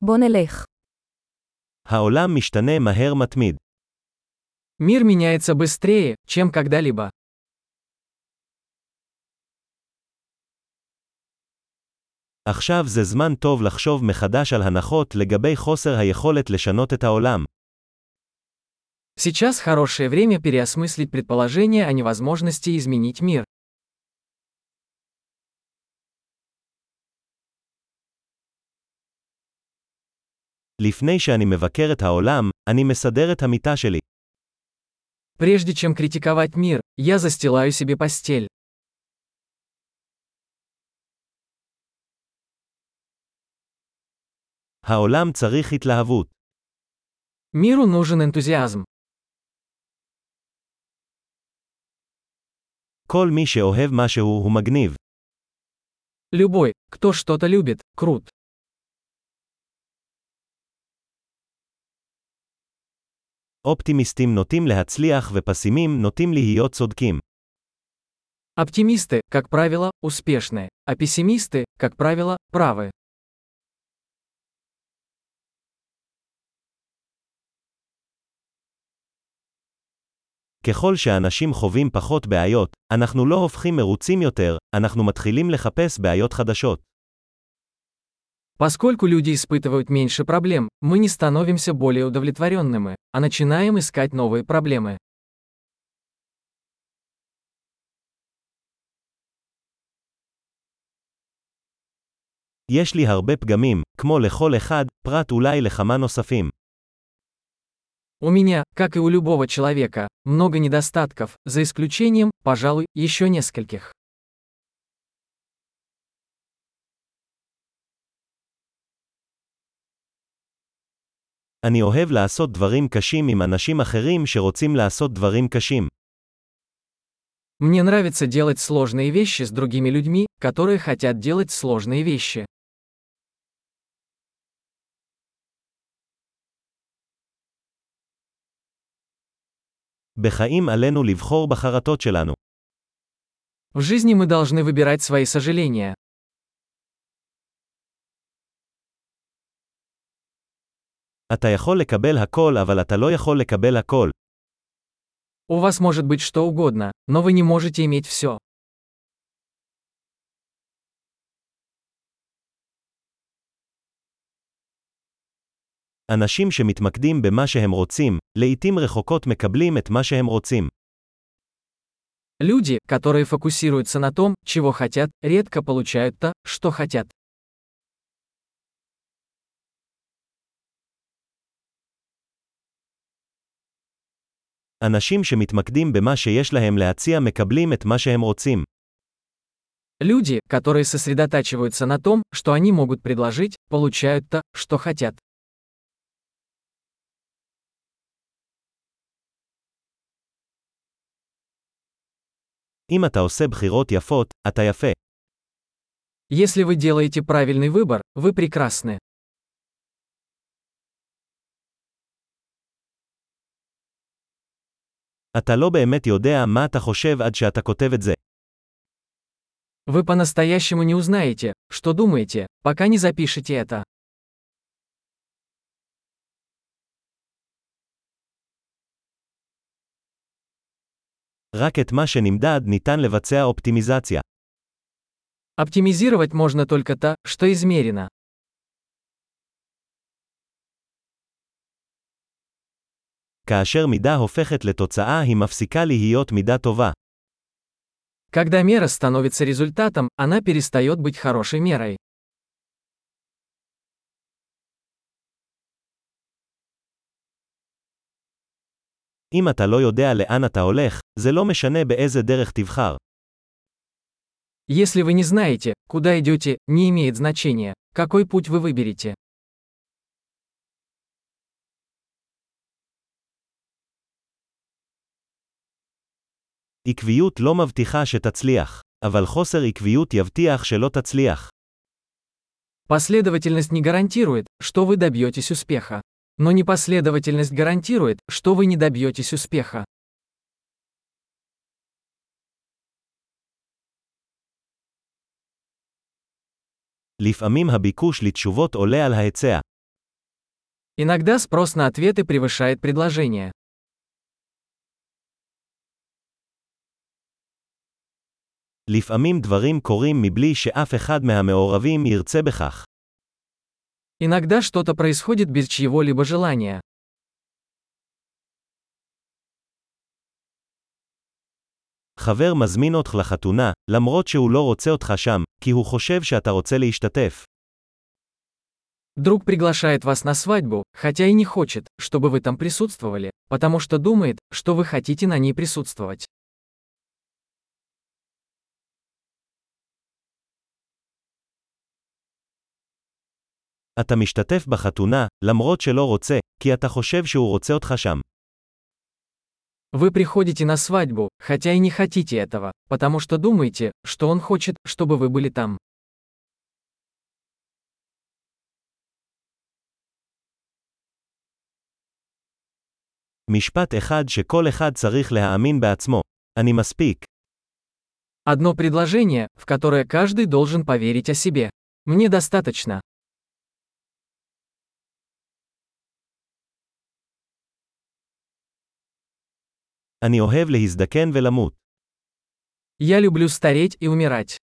בוא נלך. העולם משתנה מהר מתמיד. Мир меняется быстрее, чем когда-либо. עכשיו זה זמן טוב לחשוב מחדש על הנחות לגבי חוסר היכולת לשנות את העולם. Сейчас хорошее время переосмыслить предположение о невозможности изменить мир. לפני שאני מבקר את העולם, אני מסדר את המיטה שלי. Прежде чем критиковать мир, я застилаю себе постель. העולם צריך התלהבות. Миру нужен энтузиазм. כל מי שאוהב משהו הוא מגניב. Любой, кто что-то любит, крут. אופטימיסטים נוטים להצליח ופסימים נוטים להיות צודקים. Оптимисты, как правило, успешны, а пессимисты, как правило, правы. ככל שאנשים חווים פחות בעיות, אנחנו לא הופכים מרוצים יותר, אנחנו מתחילים לחפש בעיות חדשות. Поскольку люди испытывают меньше проблем, мы не становимся более удовлетворенными, а начинаем искать новые проблемы. יש לי הרבה פגמים, כמו לכל אחד, פרט אולי לכמה נוספים. У меня, как и у любого человека, много недостатков, за исключением, пожалуй, еще нескольких. אני אוהב לעשות דברים קשים עם אנשים אחרים שרוצים לעשות דברים קשים. Мне нравится делать сложные вещи с другими людьми, которые хотят делать сложные вещи. בחיים עלינו לבחור בחרטות שלנו. В жизни мы должны выбирать свои сожаления. אתה יכול לקבל הכל אבל אתה לא יכול לקבל הכל. У вас может быть что угодно, но вы не можете иметь все. אנשים שמתמקדים במה שהם רוצים, לעתים רחוקות מקבלים את מה שהם רוצים. Люди, которые фокусируются на том, чего хотят, редко получают то, что хотят. אנשים שמתמקדים במה שיש להם להציע מקבלים את מה שהם רוצים. Люди, которые сосредотачиваются на том, что они могут предложить, получают то, что хотят. אם אתה עושה בחירות יפות, אתה יפה. Если вы делаете правильный выбор, вы прекрасны. אתה לא באמת יודע מה אתה חושב עד שאתה כותב את זה. Вы по-настоящему не узнаете, что думаете, пока не запишете это. רק את מה שנמדד ניתן לבצע אופטימיזציה. Оптимизировать можно только то, что измерено. כאשר מידה הופכת לתוצאה היא מפסיקה להיות מידה טובה. Когда мера становится результатом, она перестает быть хорошей мерой. אם אתה לא יודע לאן אתה הולך, זה לא משנה באיזה דרך תבחר. Если вы не знаете, куда идете, не имеет значения, какой путь вы выберете. עקביות לא מבטיחה שתצליח, אבל חוסר עקביות יבטיח שלא תצליח. Последовательность не гарантирует, что вы добьетесь успеха. Но непоследовательность гарантирует, что вы не добьетесь успеха. לפעמים הביקוש לתשובות עולה על ההיצע. Иногда спрос на ответы превышает предложение. לפעמים דברים קורים מבלי שאף אחד מהמעורבים ירצה בכך. Иногда что-то происходит без чьего-либо желания. חבר מזמין אותך לחתונה, למרות שהוא לא רוצה אותך שם, כי הוא חושב שאתה רוצה להשתתף. Друг приглашает вас на свадьбу, хотя и не хочет, чтобы вы там присутствовали, потому что думает, что вы хотите на ней присутствовать. אתה משתתף בחתונה, למרות שלא רוצה, כי אתה חושב שהוא רוצה אותך שם. Вы приходите на свадьбу, хотя и не хотите этого, потому что думаете, что он хочет, чтобы вы были там. משפט אחד שכל אחד צריך להאמין בעצמו. אני מספיק. Одно предложение, в которое каждый должен поверить о себе. Мне достаточно. אני אוהב להזדקן ולמות. Я люблю стареть и умирать.